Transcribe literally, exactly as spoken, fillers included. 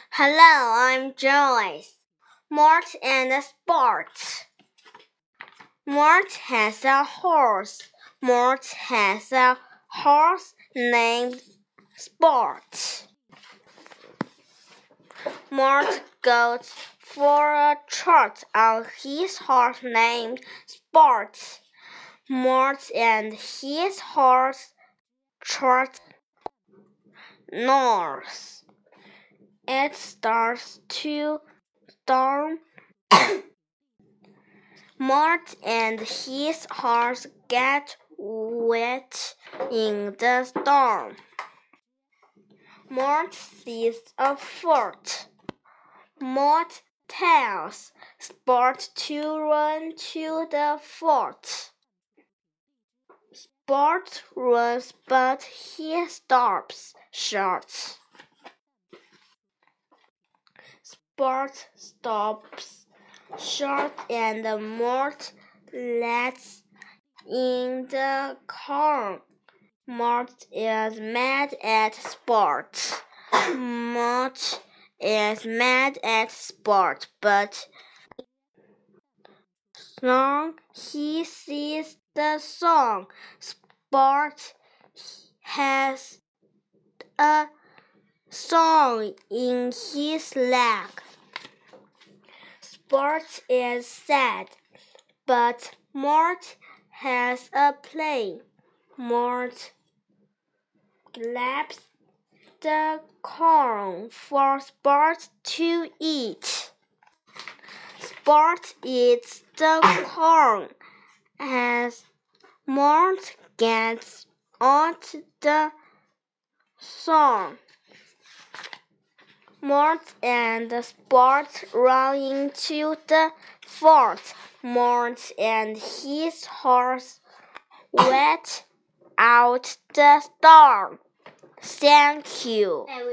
Hello, I'm Joyce. Mort and Sport. Mort has a horse. Mort has a horse named Sport. Mort goes for a trot on his horse named Sport. Mort and his horse trot north. It starts to storm. Mort and his horse get wet in the storm. Mort sees a fort. Mort tells Sport to run to the fort. Sport runs, but he stops short. Sport stops short and Mort lets in the corn. Mort is mad at Sport. Mort is mad at Sport, but song he sees the song. Sport has a song in his leg. Sport is sad, but Mort has a play. Mort grabs the corn for Sport to eat. Sport eats the corn as Mort gets out the song. Mort and Sport run into the fort. Mort and his horse wet out the storm. Thank you.